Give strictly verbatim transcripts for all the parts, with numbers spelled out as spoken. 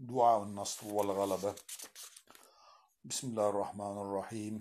دعاء النصر والغلبة. بسم الله الرحمن الرحيم.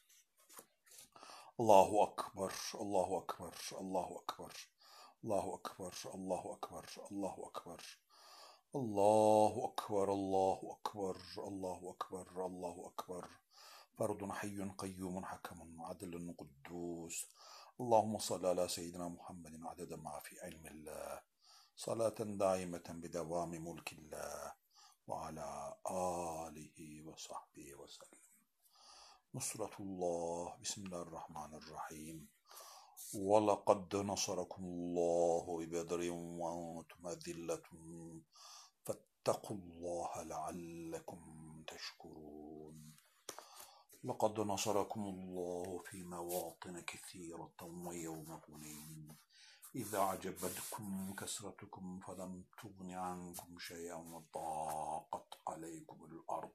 الله أكبر الله أكبر الله أكبر الله أكبر الله أكبر الله أكبر الله أكبر الله أكبر الله أكبر الله أكبر فرد حي قيوم حكم عدل قدوس. اللهم صل على سيدنا محمد عدد ما في علم الله صلاة دائمة بدوام ملك الله وعلى آله وصحبه وسلم. نصرة الله. بسم الله الرحمن الرحيم. ولقد نصركم الله ببدر وأنتم أذلة فاتقوا الله لعلكم تشكرون. لقد نصركم الله في مواطن كثيرة ويوم حنين إذا أعجبتكم كثرتكم فلم تغن عنكم شيئا وضاقت عليكم الأرض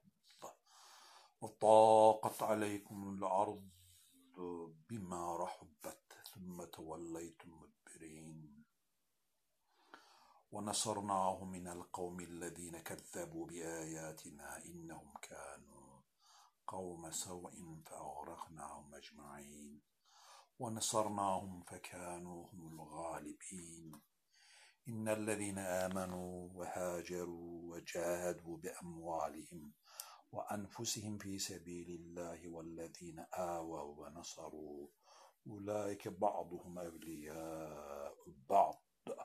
وضاقت عليكم الأرض بما رحبت ثم توليتم مدبرين. ونصرناه من القوم الذين كذبوا بآياتنا إنهم كانوا قوم سوء فأغرقناهم أجمعين. ونصرناهم فكانوا هم الغالبين. إن الذين آمنوا وهاجروا وجاهدوا بأموالهم وأنفسهم في سبيل الله والذين آووا ونصروا أولئك بعضهم أولياء بعض.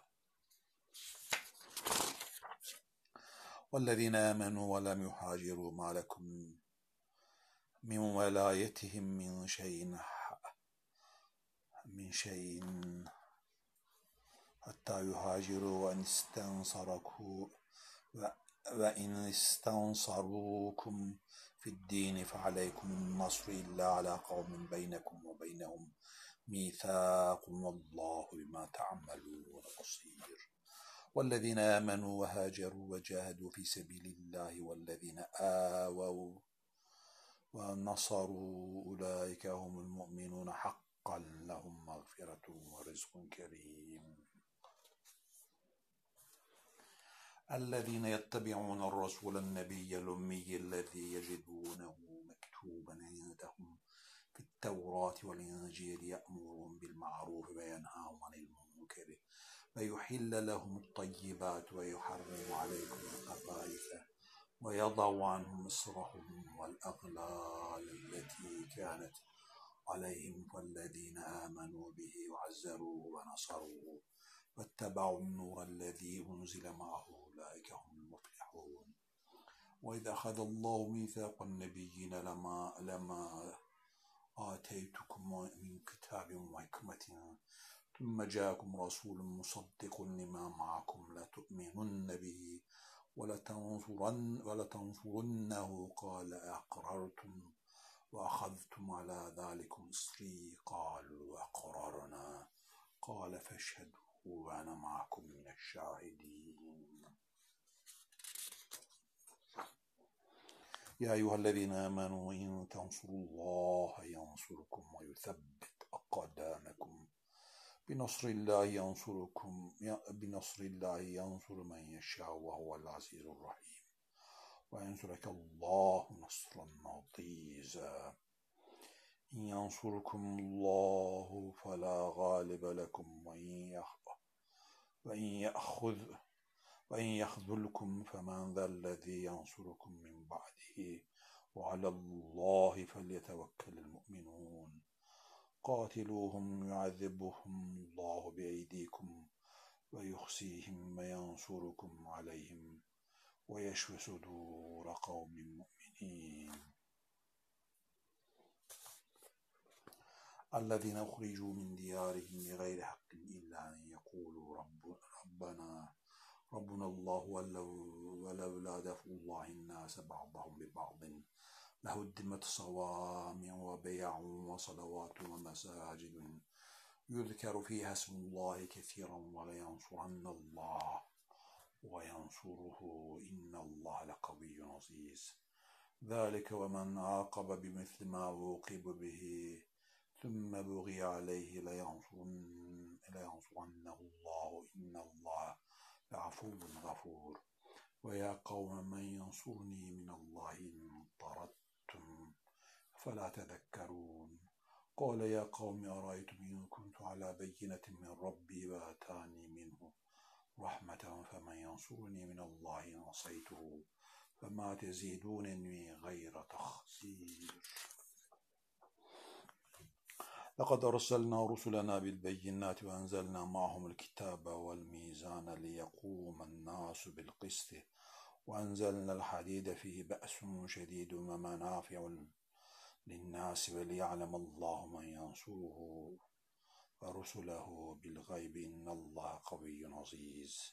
والذين آمنوا ولم يهاجروا ما لكم من ولايتهم من شيء من شيء حتى يهاجروا وإن استنصركوا وإن استنصروكم في الدين فعليكم النصر إلا على قوم بينكم وبينهم ميثاق والله بما تعملون بصير. والذين آمنوا وهاجروا وجاهدوا في سبيل الله والذين آووا ونصروا أولئك هم المؤمنون حقا لهم مغفرة ورزق كريم. الذين يتبعون الرسول النبي الأمي الذي يجدونه مكتوبا عندهم في التوراة والإنجيل يأمرهم بالمعروف وينهاهم عن المنكر ويحل لهم الطيبات ويحرم عليكم الخبائث ويضع عنهم إصرهم والأغلال التي كانت عليهم والذين آمنوا به وعزروه ونصروه واتبعوا النور الذي أنزل معه أولئك هم المفلحون. وإذا أخذ الله ميثاق النبيين لما لما آتيتكم من كتاب وحكمة ثم جاءكم رسول مصدق لما معكم لتؤمنن به ولتنصرن ولتنصرنه قال أقررتم وأخذتم على ذلكم إصري قالوا أقررنا قال فاشهدوا وأنا معكم من الشاهدين. يا أيها الذين آمنوا إن تنصروا الله ينصركم ويثبت أقدامكم. بنصر الله ينصركم بنصر الله ينصر من يشاء وهو العزيز الرحيم. وينصرك الله نصرا عزيزا. إن ينصركم الله فلا غالب لكم وإن يأخذ وإن يخذلكم فمن ذا الذي ينصركم من بعده وعلى الله فليتوكل المؤمنون. قاتلوهم يعذبهم الله بأيديكم ويخزيهم وينصركم عليهم ويشفي صدور قوم مؤمنين. الذين أخرجوا من ديارهم بغير حق إلا أن يقولوا رب ربنا ربنا الله ولولا دفع الله الناس بعضهم ببعض لهدمت صوامع وبيع وصلوات ومساجد يذكر فيها اسم الله كثيرا ولينصرن الله وينصره إن الله لقوي عزيز. ذلك ومن عاقب بمثل ما عوقب به ثم بغي عليه لينصرنه الله إن الله لعفو غفور. ويا قوم من ينصرني من الله إن طردتم فلا تذكرون قال يا قوم أرأيتم إن كنت على بينة من ربي وآتاني منه رحمة فمن ينصرني من الله إن عصيته فما تزيدونني غير تخسير لقد أرسلنا رسلنا بالبينات وأنزلنا معهم الكتاب والميزان ليقوم الناس بالقسط وأنزلنا الحديد فيه بأس شديد ومنافع للناس وليعلم الله من ينصره ورسله بالغيب إن الله قوي عزيز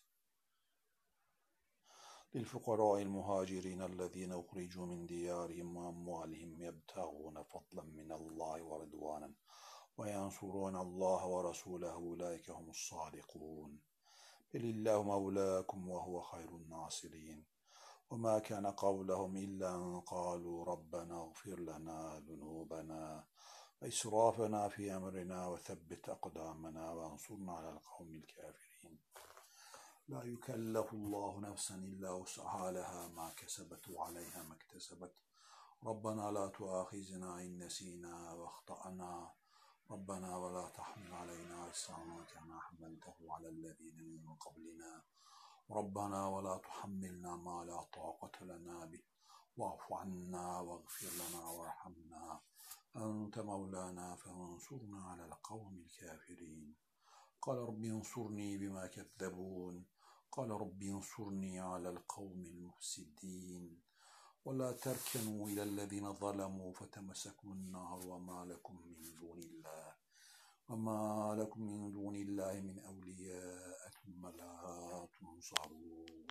للفقراء المهاجرين الذين أخرجوا من ديارهم وأموالهم يبتغون فضلا من الله ورضوانا وينصرون الله ورسوله أولئك هم الصادقون بل الله مولاكم وهو خير الناصرين وما كان قولهم إلا أن قالوا ربنا اغفر لنا ذنوبنا وإسرافنا في أمرنا وثبت أقدامنا وانصرنا على القوم الكافرين لا يكلف الله نفسا إلا وسعها لها ما كسبت وعليها ما اكتسبت ربنا لا تؤاخذنا إن نسينا واخطأنا ربنا ولا تحمل علينا إصرا كما حملته على الذين من قبلنا ربنا ولا تحملنا ما لا طاقة لنا به واعف عنا واغفر لنا وارحمنا أنت مولانا فانصرنا على القوم الكافرين قال رب انصرني بما كذبون قال رب انصرني على القوم المفسدين ولا تركنوا إلى الذين ظلموا فتمسكوا النار وما لكم من دون الله وما لكم من دون الله من أولياء ثم لا تنصرون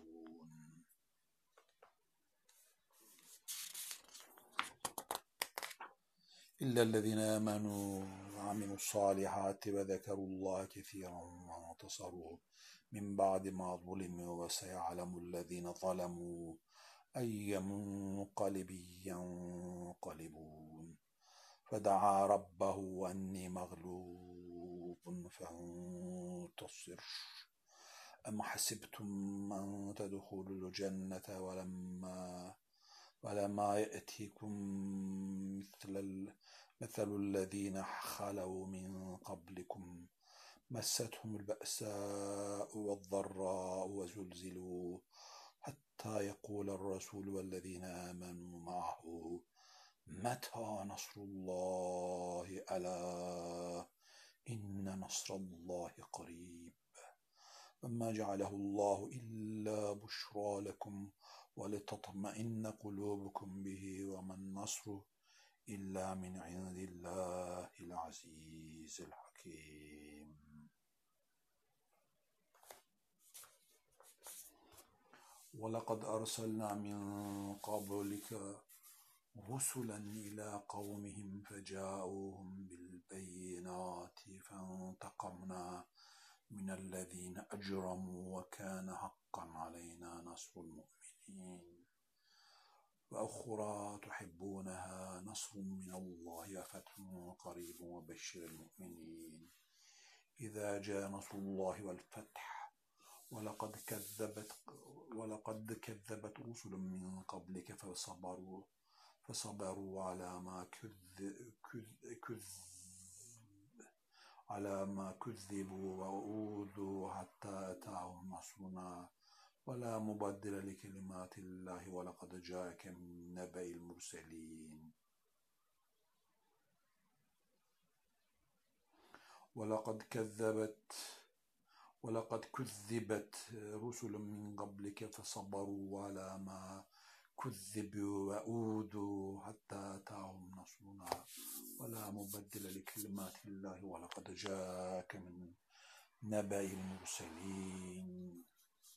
إلا الذين آمنوا وعملوا الصالحات وذكروا الله كثيرا وانتصروا من بعد ما ظلموا وسيعلم الذين ظلموا أي منقلب ينقلبون فدعا ربه أني مغلوب فانتصر أم حسبتم أن تدخلوا الجنة ولما ولما يأتيكم مثل مثل الذين خلوا من قبلكم مستهم البأساء والضراء وزلزلوا حتى يقول الرسول والذين آمنوا معه متى نصر الله ألا إن نصر الله قريب وما جعله الله إلا بشرى لكم ولتطمئن قلوبكم به وما النصر إلا من عند الله العزيز الحكيم ولقد أرسلنا من قبلك رسلا إلى قومهم فجاءوهم بالبينات فانتقمنا من الذين أجرموا وكان حقا علينا نصر المؤمنين وأخرى تحبونها نصر من الله وفتح قريب وبشر المؤمنين إذا جاء نصر الله والفتح ولقد كذبت ولقد كذبت رسل من قبلك فصبروا فصبروا على ما كذب كذ على ما كذبوا وأوذوا حتى أتاهم نصرنا ولا مبدل لكلمات الله ولقد جاءك من نبأ المرسلين ولقد كذبت ولقد كذبت رسل من قبلك فصبروا على ما كذبوا وأوذوا حتى أتاهم نصرنا ولا مبدل لكلمات الله ولقد جاءك من نبأ المرسلين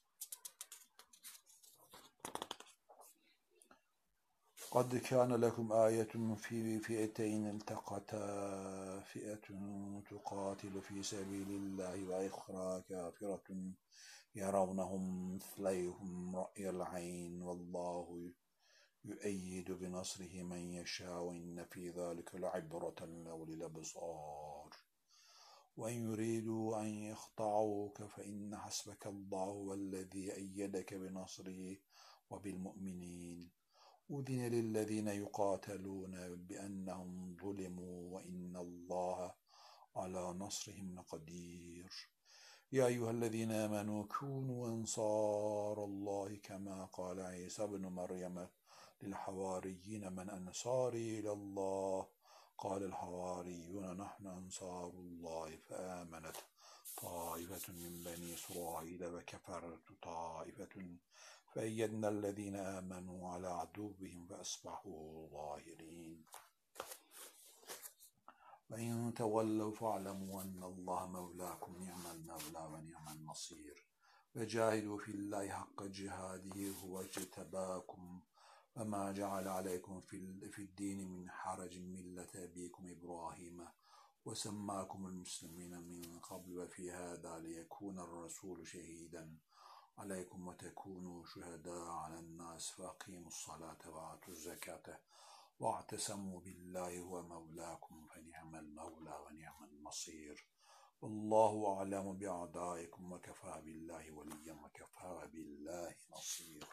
قد كان لكم آية في فئتين التقتا فئة تقاتل في سبيل الله وأخرى كافرة يرونهم مثليهم رأي العين والله يؤيد بنصره من يشاء وإن في ذلك لعبرة لأولي الأبصار وإن يريدوا أن يخطعوك فإن حسبك الله والذي أيدك بنصره وبالمؤمنين أذن للذين يقاتلون بأنهم ظلموا وإن الله على نصرهم لقدير يا أيها الذين آمنوا كونوا أنصار الله كما قال عيسى بن مريم للحواريين من أنصاري إلى الله قال الحواريون نحن أنصار الله فآمنت طائفة من بني إسرائيل وكفرت طائفة فأيدنا الذين آمنوا على عدوهم فأصبحوا ظاهرين وإن تولوا فاعلموا أن الله مولاكم نعم المولى ونعم النصير وجاهدوا في الله حق جهاده هو اجتباكم وما جعل عليكم في الدين من حرج ملة أبيكم إبراهيم وسماكم المسلمين من قبل وفي هذا ليكون الرسول شهيدا عليكم وتكونوا شهداء على الناس فأقيموا الصلاة وآتوا الزكاة واعتصموا بالله هو مولاكم فنعم المولى ونعم النصير والله أعلم بأعدائكم وكفى بالله وليا وكفى بالله نصيرا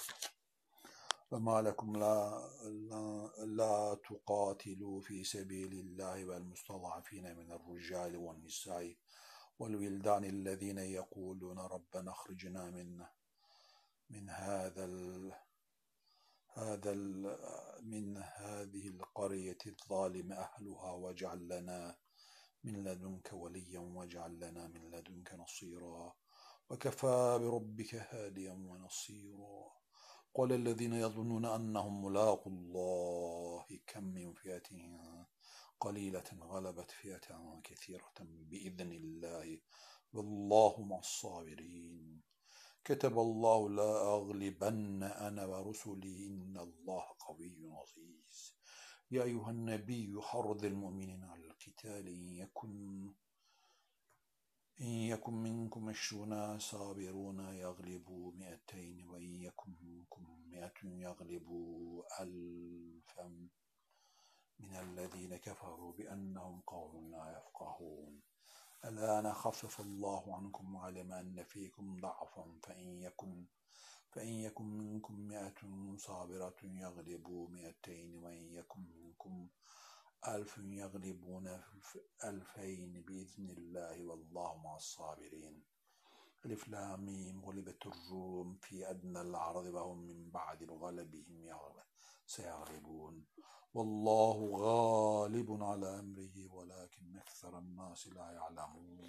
فما لكم لا, لا, لا تقاتلوا في سبيل الله والمستضعفين من الرجال والنساء والولدان الذين يقولون ربنا اخرجنا من من هذا ال هذا ال من هذه القرية الظالم أهلها واجعل لنا من لدنك وليا واجعل لنا من لدنك نصيرا وكفى بربك هاديا ونصيرا قال الذين يظنون أنهم ملاقوا الله كم من فئة قليلة غلبت فئة كثيرة بإذن الله والله مع الصابرين كتب الله لا أغلبن أنا ورسلي إن الله قوي عزيز يا أيها النبي حرض المؤمنين على القتال إن يكن إن يكن منكم عشرون صابرون يغلبوا مئتين وإن يكن منكم مئة يغلبوا ألفا من الذين كفروا بأنهم قوم لا يفقهون الآن خفف الله عنكم وعلم أن فيكم ضعفا فإن يكن فإن يكن منكم مئة صابرة يغلبوا مئتين وإن يكن منكم ألف يغلبون ألفين بإذن الله والله مع الصابرين ألف لام ميم غلبت الروم في أدنى الأرض وهم من بعد غلبهم سيغلبون والله غالب على أمره ولكن أكثر الناس لا يعلمون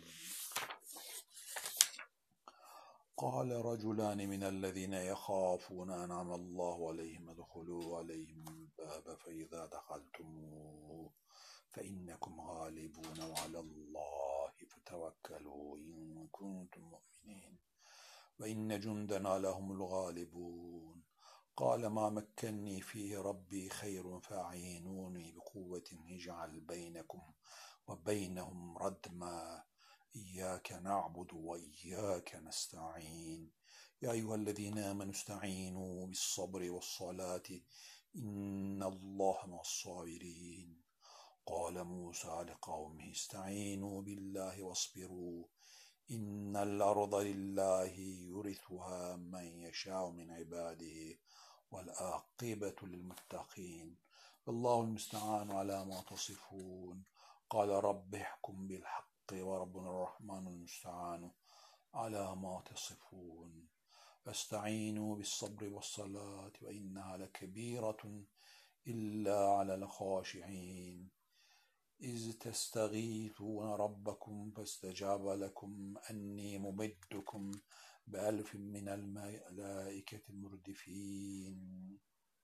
قال رجلان من الذين يخافون أنعم الله عليهم ادخلوا عليهم الباب فإذا دخلتموه فإنكم غالبون وعلى الله فتوكلوا إن كنتم مؤمنين وإن جندنا لهم الغالبون قال ما مكنني فيه ربي خير فأعينوني بقوة نجعل بينكم وبينهم ردما إياك نعبد وإياك نستعين يا أيها الذين آمنوا استعينوا بالصبر والصلاة إن الله مع الصابرين قال موسى لقومه استعينوا بالله واصبروا إن الأرض لله يورثها من يشاء من عباده والعاقبة للمتقين والله المستعان على ما تصفون قال رب احكم بالحق وربنا الرحمن المستعان على ما تصفون فاستعينوا بالصبر والصلاة وإنها لكبيرة إلا على الخاشعين إذ تستغيثون ربكم فاستجاب لكم أني ممدكم بألف من الملائكة المردفين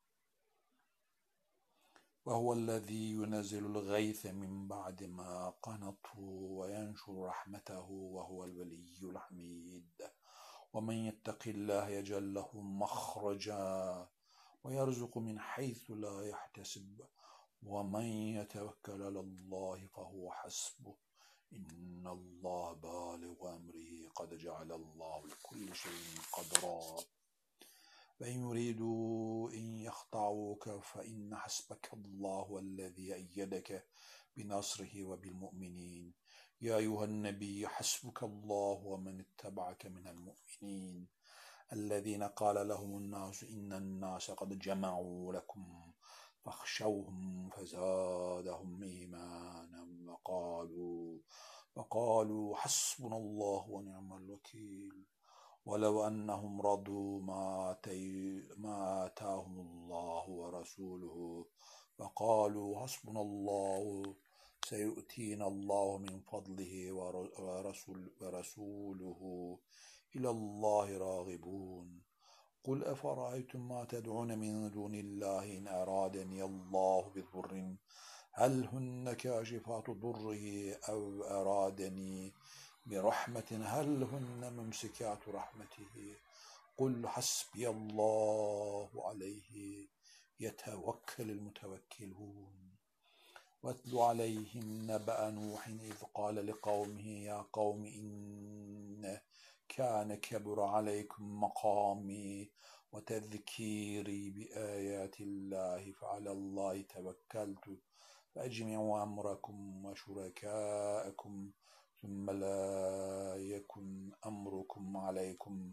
وهو الذي ينزل الغيث من بعد ما قنطوا وينشر رحمته وهو الولي الحميد ومن يتق الله يجعل له مخرجا ويرزق من حيث لا يحتسب ومن يتوكل على الله فهو حسبه إن الله بالغ أمره قد جعل الله لكل شيء قدرا فإن يريدوا إن يخطعوك فإن حسبك الله الذي أيدك بنصره وبالمؤمنين يا أيها النبي حسبك الله ومن اتبعك من المؤمنين الذين قال لهم الناس إن الناس قد جمعوا لكم فاخشوهم فزادهم إيمانا وقالوا وقالوا حسبنا الله ونعم الوكيل ولو أنهم رضوا ما, ما آتاهم الله ورسوله وقالوا حسبنا الله سيؤتينا الله من فضله ورسول ورسوله إلى الله راغبون قل أفرأيتم ما تدعون من دون الله إن أرادني الله بضر هل هن كاشفات ضره أو أرادني برحمة هل هن ممسكات رحمته قل حسبي الله عليه يتوكل المتوكلون واتل عليهم نبأ نوح إذ قال لقومه يا قوم إن كان كبر عليكم مقامي وتذكيري بآيات الله فعلى الله توكلت فأجمعوا أمركم وشركاءكم ثم لا يكن أمركم عليكم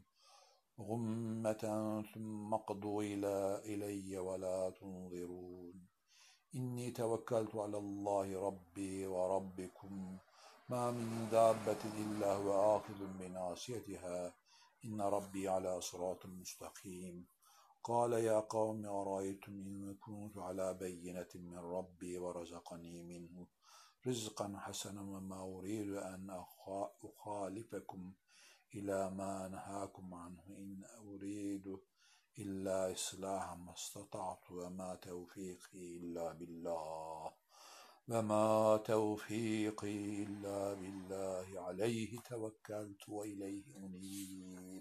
غمة ثم اقضوا إلي ولا تنظرون إني توكلت على الله ربي وربكم ما من دابة إلا هو آخذ بناصيتها إن ربي على صراط مستقيم قال يا قوم أرأيتم إن كنت على بينة من ربي ورزقني منه رزقا حسنا وما أريد أن أخالفكم إلى ما نهاكم عنه إن أريد إلا إصلاحا ما استطعت وما توفيقي إلا بالله وما توفيقي إلا بالله عليه توكلت وإليه أنيب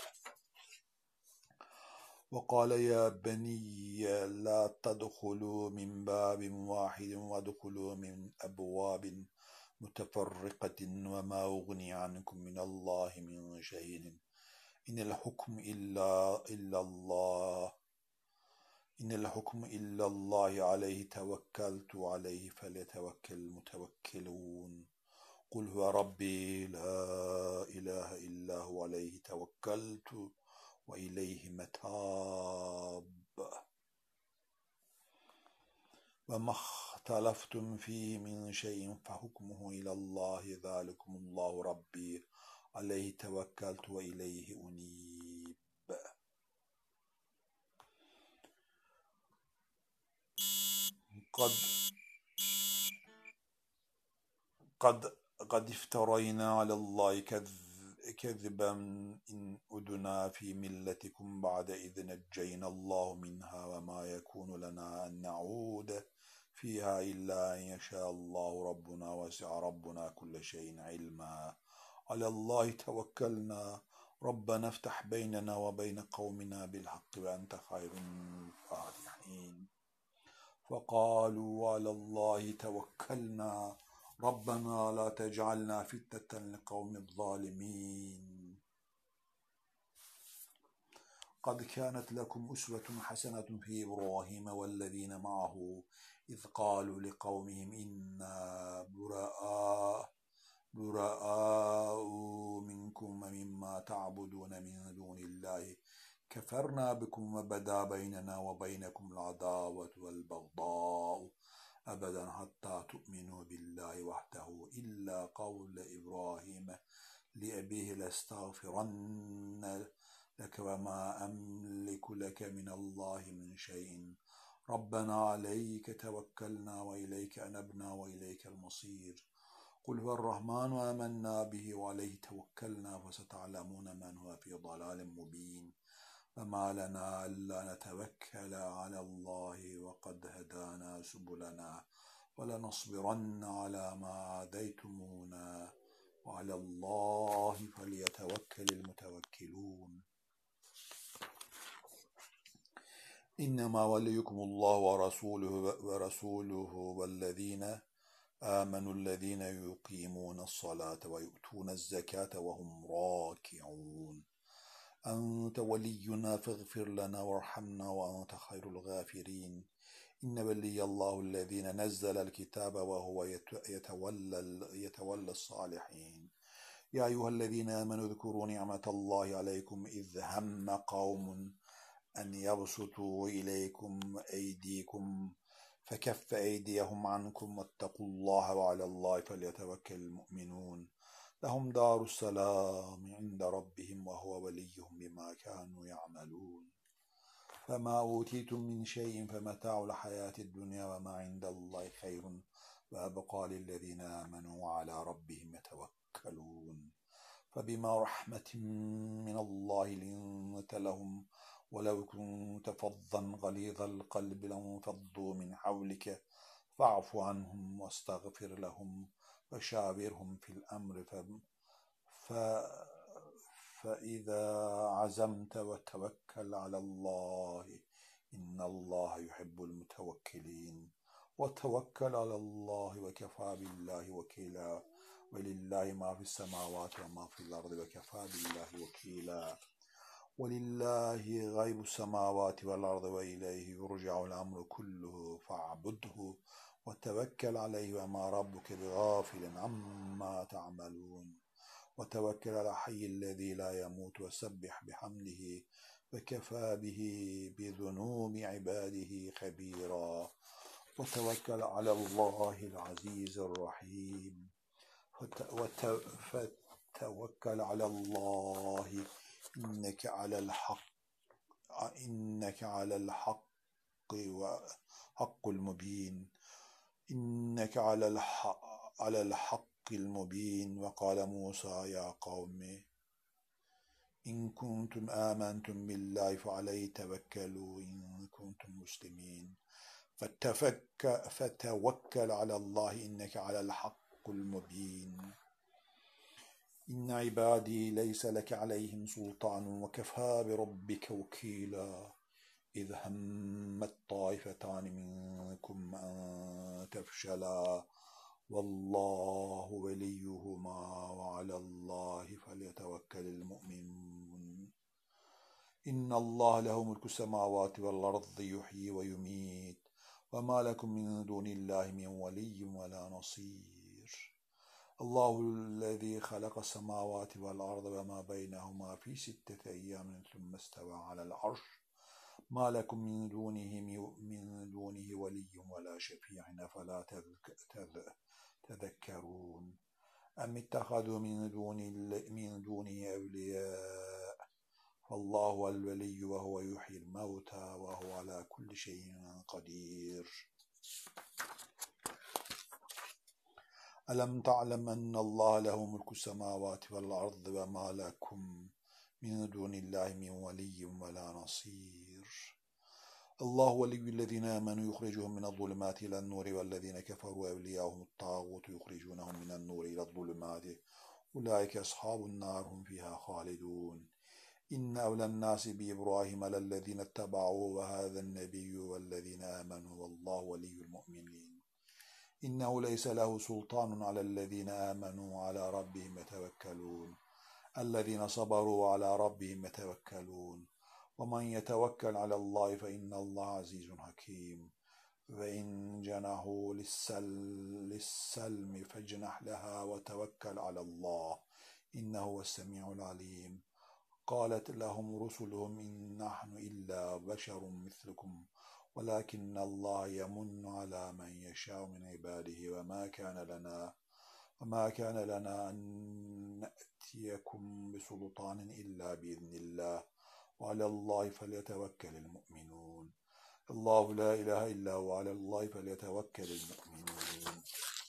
وقال يا بني لا تدخلوا من باب واحد وادخلوا من أبواب متفرقة وما أغني عنكم من الله من شيء إن الحكم إلا إلا الله إن الحكم إلا الله عليه توكلت عليه فليتوكل المتوكلون قل هو ربي لا إله إلا هو عليه توكلت وإليه متاب وما اختلفتم فيه من شيء فحكمه إلى الله ذلكم الله ربي عليه توكلت وإليه أنيب قد قد قد افترينا على الله كذبا إن أدنا في ملتكم بعد إذ نجينا الله منها وما يكون لنا أن نعود فيها إلا أن يشاء الله ربنا وسع ربنا كل شيء علما على الله توكلنا ربنا افتح بيننا وبين قومنا بالحق وأنت خير الفاتحين فقالوا على الله توكلنا ربنا لا تجعلنا فتنة لقوم الظالمين قد كانت لكم أسوة حسنة في إبراهيم والذين معه إذ قالوا لقومهم إنا براء براء منكم ومما تعبدون من دون الله كفرنا بكم وبدا بيننا وبينكم العداوة والبغضاء أبدا حتى تؤمنوا بالله وحده إلا قول إبراهيم لأبيه لاستغفرن لك وما أملك لك من الله من شيء ربنا عليك توكلنا وإليك أنبنا وإليك المصير قل هو الرحمن آمنا به وعليه توكلنا فستعلمون من هو في ضلال مبين فما لنا ألا نتوكل على الله وقد هدانا سبلنا ولنصبرن على ما عاديتمونا وعلى الله فليتوكل المتوكلون إنما وليكم الله ورسوله ورسوله والذين آمنوا الذين يقيمون الصلاة ويؤتون الزكاة وهم راكعون أنت ولينا فاغفر لنا وارحمنا وأنت خير الغافرين إن ولي الله الذي نزل الكتاب وهو يتولى, يتولى الصالحين. يا أيها الذين آمنوا اذكروا نعمة الله عليكم إذ هم قوم أن يبسطوا إليكم أيديكم فكف أيديهم عنكم واتقوا الله وعلى الله فليتوكل المؤمنون. لهم دار السلام عند ربهم وهو وليهم بما كانوا يعملون. فما أوتيتم من شيء فمتاع الحياة الدنيا وما عند الله خير وأبقى للذين آمنوا وعلى ربهم يتوكلون. فبما رحمة من الله لنت لهم ولو كنت فظا غليظ القلب لانفضوا من حولك فاعف عنهم واستغفر لهم وشاورهم في الأمر ف... ف... فإذا عزمت وتوكل على الله إن الله يحب المتوكلين. وتوكل على الله وكفى بالله وكيلا ولله ما في السماوات وما في الأرض وكفى بالله وكيلا. ولله غيب السماوات والأرض وإليه يرجع الأمر كله فاعبده وتوكل عليه وما ربك بغافل عما تعملون. وتوكل على الحي الذي لا يموت وسبح بحمده وكفى به بذنوب عباده خبيرا. وتوكل على الله العزيز الرحيم. فتوكل على الله إنك على الحق إنك على الحق وحق المبين إنك على الحق على الحق المبين. وقال موسى يا قوم إن كنتم آمنتم بالله فعليه توكلوا إن كنتم مسلمين. فتفك فتوكل على الله إنك على الحق المبين. إن عبادي ليس لك عليهم سلطان وكفى بربك وكيلا. إذ همت طائفتان منكم أن تفشلا والله وليهما وعلى الله فليتوكل المؤمنون. إن الله له ملك السماوات والأرض يحيي ويميت وما لكم من دون الله من ولي ولا نصير. الله الذي خلق السماوات والأرض وما بينهما في ستة أيام ثم استوى على العرش ما لكم من دونه من دونه ولي ولا شفيع أفلا تذكرون. أم اتخذوا من دون من دونه أولياء فالله هو الولي وهو يحيي الموتى وهو على كل شيء قدير. ألم تعلم أن الله له ملك السماوات والأرض وما لكم من دون الله من ولي ولا نصير. الله ولي الذين آمنوا يخرجهم من الظلمات إلى النور والذين كفروا أولياءهم الطاغوت يخرجونهم من النور إلى الظلمات أولئك أصحاب النار هم فيها خالدون. إن أولى الناس بإبراهيم للذين اتبعوه وهذا النبي والذين آمنوا والله ولي المؤمنين. إنه ليس له سلطان على الذين آمنوا وعلى ربهم يتوكلون. الذين صبروا وعلى ربهم يتوكلون. ومن يتوكل على الله فإن الله عزيز حكيم. فإن جنحوا للسلم فاجنح لها وتوكل على الله إنه هو السميع العليم. قالت لهم رسلهم إن نحن إلا بشر مثلكم ولكن الله يمن على من يشاء من عباده وما كان لنا وما كان لنا أن نأتيكم بسلطان إلا بإذن الله وعلى الله فليتوكل المؤمنون. الله لا إله إلا هو وعلى الله فليتوكل المؤمنون.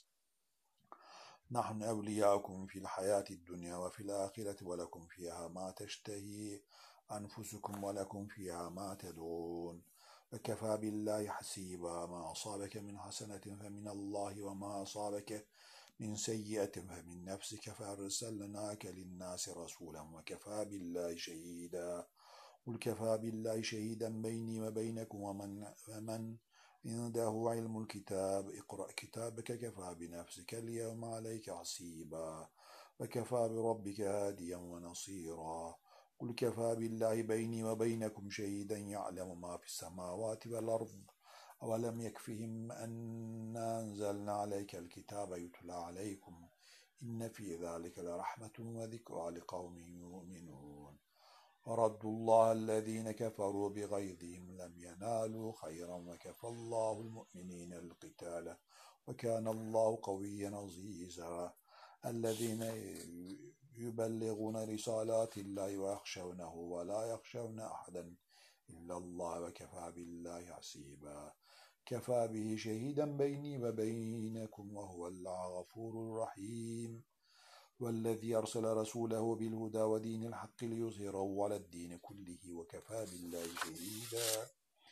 نحن أولياؤكم في الحياة الدنيا وفي الآخرة ولكم فيها ما تشتهي أنفسكم ولكم فيها ما تدعون. وكفى بالله حسيبا. ما أصابك من حسنة فمن الله وما أصابك من سيئة فمن نفسك فأرسلناك للناس رسولا وكفى بالله شهيدا. قل كفى بالله شهيدا بيني وبينكم ومن, ومن عنده علم الكتاب اقرأ كتابك كفى بنفسك اليوم عليك حسيبا وكفى بربك هاديا ونصيرا. قل كفى بالله بيني وبينكم شهيدا يعلم ما في السماوات والأرض أولم يكفهم أنا أنزلنا عليك الكتاب يتلى عليكم إن في ذلك لرحمة وذكرى لقوم يؤمنون ورد الله الذين كفروا بغيظهم لم ينالوا خيرا وكفى الله المؤمنين القتال وكان الله قويا عزيزا الذين يبلغون رسالات الله ويخشونه ولا يخشون أحدا إلا الله وكفى بالله حسيبا كفى به شهيدا بيني وبينكم وهو الغفور الرحيم والذي أرسل رسوله بالهدى ودين الحق ليظهره على الدين كله وكفى بالله شهيدا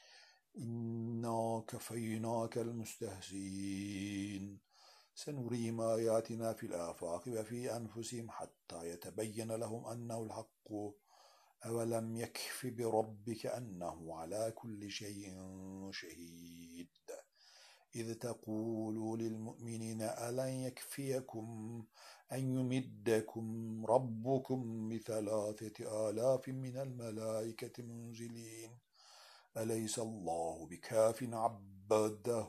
إنا كفيناك المستهزئين سنريهم آياتنا في الآفاق وفي أنفسهم حتى يتبين لهم أنه الحق أولم يكف بربك أنه على كل شيء شهيد إذ تقولوا للمؤمنين ألن يكفيكم أن يمدكم ربكم بثلاثة آلاف من الملائكة منزلين أليس الله بكاف عبده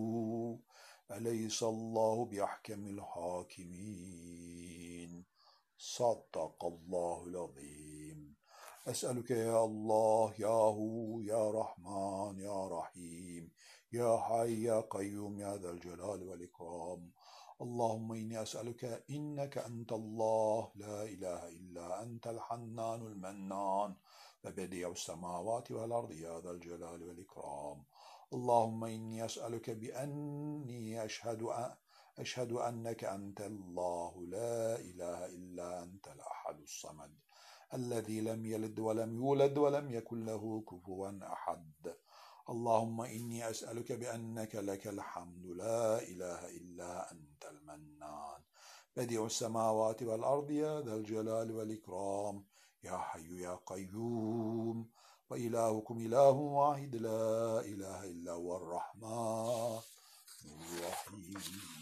أليس الله بأحكم الحاكمين صدق الله العظيم أسألك يا الله يا هو يا رحمن يا رحيم يا حي يا قيوم يا ذا الجلال والإكرام اللهم إني أسألك إنك أنت الله لا إله إلا أنت الحنان المنان وبديع السماوات والأرض يا ذا الجلال والإكرام اللهم إني أسألك بأني أشهد أن أشهد أنك أنت الله لا إله إلا أنت الأحد الصمد الذي لم يلد ولم يولد ولم يكن له كفوا أحد اللهم إني أسألك بأنك لك الحمد لا إله إلا أنت المنان بديع السماوات والأرض يا ذا الجلال والإكرام يا حي يا قيوم وإلهكم إله واحد لا إله إلا هو الرحمن الرحيم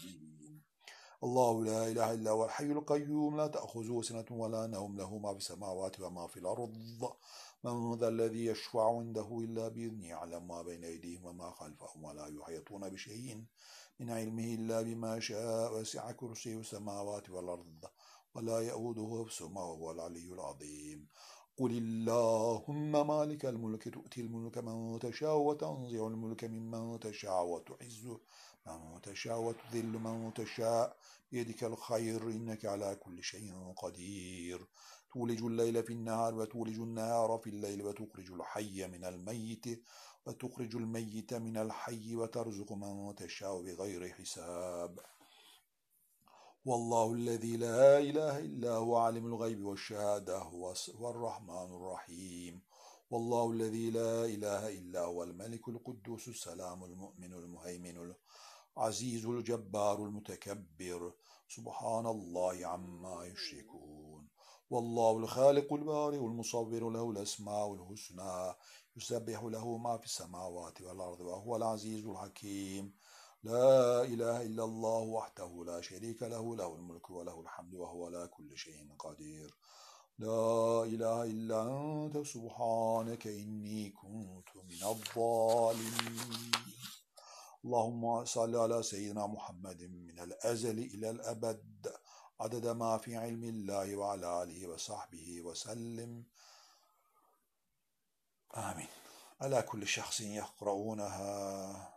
الله لا إله إلا هو الحي القيوم لا تأخذه سنة ولا نوم له ما في السماوات وما في الأرض من ذا الذي يشفع عنده إلا بإذنه يعلم ما بين أيديهم وما خلفهم ولا يحيطون بشيء من علمه إلا بما شاء وسع كرسيه السماوات والأرض ولا يؤوده حفظهما وهو العلي العظيم قل اللهم مالك الملك تؤتي الملك من تشاء وتنزع الملك ممن تشاء وتعز من تشاء وتذل من تشاء بيدك الخير إنك على كل شيء قدير تولج الليل في النهار وتولج النهار في الليل وتخرج الحي من الميت وتخرج الميت من الحي وترزق من تشاء بغير حساب والله الذي لا إله إلا هو عالم الغيب والشهادة هو الرحمن الرحيم والله الذي لا إله إلا هو الملك القدوس السلام المؤمن المهيمن العزيز الجبار المتكبر سبحان الله عما يشركون والله الخالق البارئ المصور له الأسماء الحسنى يسبح له ما في السماوات والأرض وهو العزيز الحكيم لا إله إلا الله وحده لا شريك له له الملك وله الحمد وهو على كل شيء قدير لا إله إلا أنت سبحانك إني كنت من الظالمين اللهم صل على سيدنا محمد من الأزل إلى الأبد عدد ما في علم الله وعلى آله وصحبه وسلم آمين. على كل شخص يقرؤونها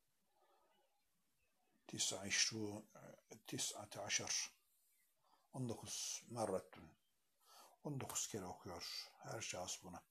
تسعة عشر on dokuz مرة on dokuz kere okuyor her şahıs bunu.